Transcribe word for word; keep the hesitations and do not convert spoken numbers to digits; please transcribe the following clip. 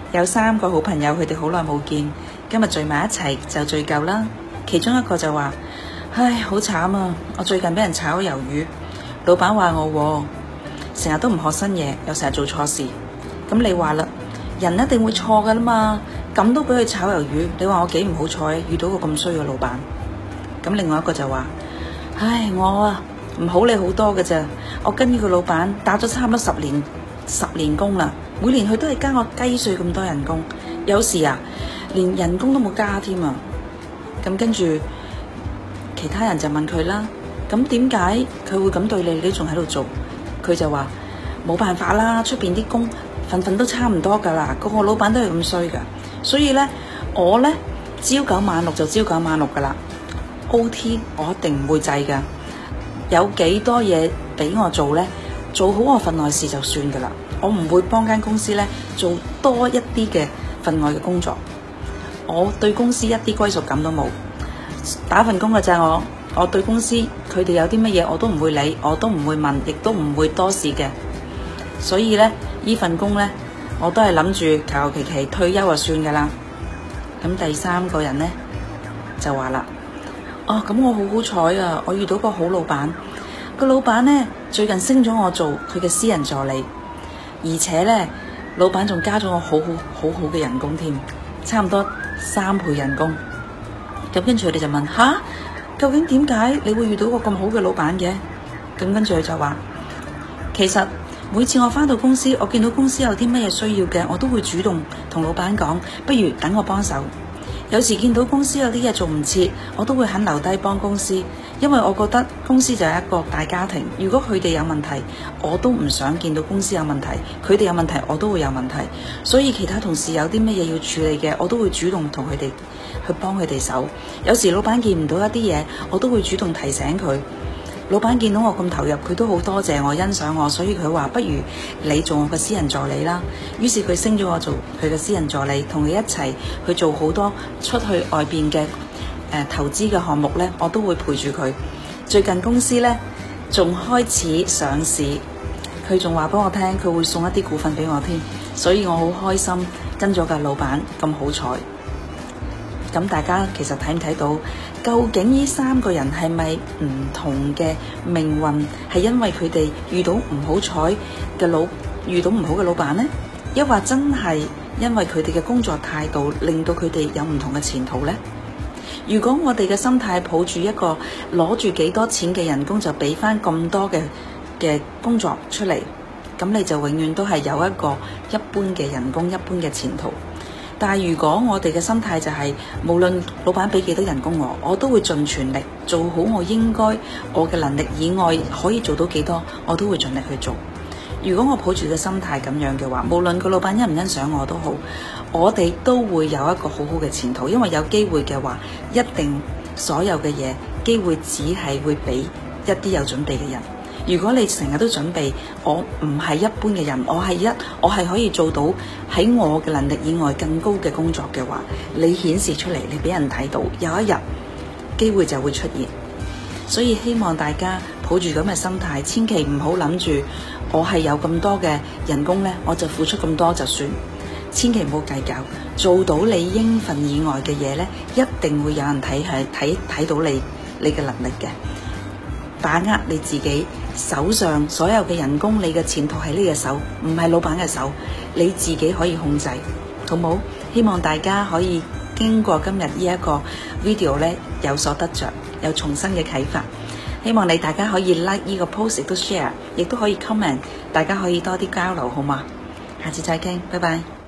有三個好朋友，佢哋好耐冇見，今日聚埋一齊就聚舊啦。其中一個就話：唉，好慘啊！我最近俾人炒魷魚，老闆話我成日都唔學新嘢，又成日做錯事。咁你話啦，人一定會錯噶啦嘛，咁都俾佢炒魷魚，你話我幾唔好彩，遇到個咁衰嘅老闆。咁另外一個就話：唉，我啊唔好你好多嘅咋，我跟呢個老闆打咗差唔多十年十年工啦，每年佢都係加我雞碎咁多人工，有時啊連人工都冇加添啊。咁跟住其他人就問佢啦，咁點解佢會咁對你？你仲喺度做？佢就話冇辦法啦，出邊啲工份份都差唔多噶啦，個個老闆都係咁衰噶，所以呢，我呢，朝九晚六就朝九晚六噶啦 ，O T 我一定唔會制噶，有幾多嘢俾我做呢？做好我份內事就算噶啦，我唔會幫間公司呢做多一啲嘅份外嘅工作，我對公司一啲歸屬感都冇，打份工嘅咋我。我對公司佢哋有啲乜嘢我都唔會理，我都唔會問，亦都唔會多事嘅。所以呢，呢份工呢，我都係諗住求求其其退休就算噶啦。咁第三個人呢，就話啦：哦，咁我好好彩啊！我遇到個好老闆，個老闆呢，最近升咗我做佢嘅私人助理，而且呢，老闆仲加咗我好好好好嘅人工添，差唔多三倍人工。咁跟住佢哋就問：吓？究竟點解你會遇到個咁好嘅老闆嘅？咁跟住佢就話，其實每次我返到公司，我見到公司有啲乜嘢需要嘅，我都會主動同老闆講，不如等我幫手。有時見到公司有啲嘢做唔切，我都會肯留低幫公司，因為我覺得公司就係一個大家庭。如果佢哋有問題，我都唔想見到公司有問題；佢哋有問題，我都會有問題。所以其他同事有啲乜嘢要處理嘅，我都會主動同佢哋去幫佢哋手。有時老闆見唔到一啲嘢，我都會主動提醒佢。老闆見到我咁投入，佢都好多謝我、欣賞我，所以佢話不如你做我嘅私人助理啦。於是佢升咗我做佢嘅私人助理，同佢一齊去做好多出去外邊嘅誒投資嘅項目呢，我都會陪住佢。最近公司呢，仲開始上市，佢仲話俾我聽佢會送一啲股份俾我添，所以我好開心跟咗個老闆咁好彩。咁大家其實睇唔睇到，究竟呢三個人係咪唔同嘅命運？係因為佢哋遇到唔好彩嘅老遇到唔好嘅老闆呢？抑或真係因為佢哋嘅工作態度令到佢哋有唔同嘅前途呢？如果我哋嘅心態抱住一個攞住幾多錢嘅人工就俾翻咁多嘅嘅工作出嚟，咁你就永遠都係有一個一般嘅人工、一般嘅前途。但係如果我哋嘅心態就係，無論老闆俾幾多人工我，我都會盡全力做好我應該我嘅能力以外可以做到幾多，我都會盡力去做。如果我抱住嘅心態咁樣嘅話，無論個老闆欣唔欣賞我都好，我哋都會有一個好好嘅前途。因為有機會嘅話，一定所有嘅嘢機會只係會俾一啲有準備嘅人。如果你成日都準備，我唔係一般嘅人，我係一我係可以做到喺我嘅能力以外更高嘅工作嘅話，你顯示出嚟，你俾人睇到，有一日機會就會出現。所以希望大家抱住咁嘅心態，千祈唔好諗住我係有咁多嘅人工呢，我就付出咁多就算，千祈唔好計較，做到你應份以外嘅嘢呢，一定會有人睇係睇睇到你你嘅能力嘅。把握你自己手上所有嘅人工，你嘅前途喺呢個手，唔係老闆嘅手，你自己可以控制，好冇？希望大家可以經過今日呢一個 video 呢，有所得着，有重新嘅啟發。希望你大家可以 like 呢個 post，亦都 share，亦都可以 comment，大家可以多啲交流，好嗎？下次再傾，拜拜。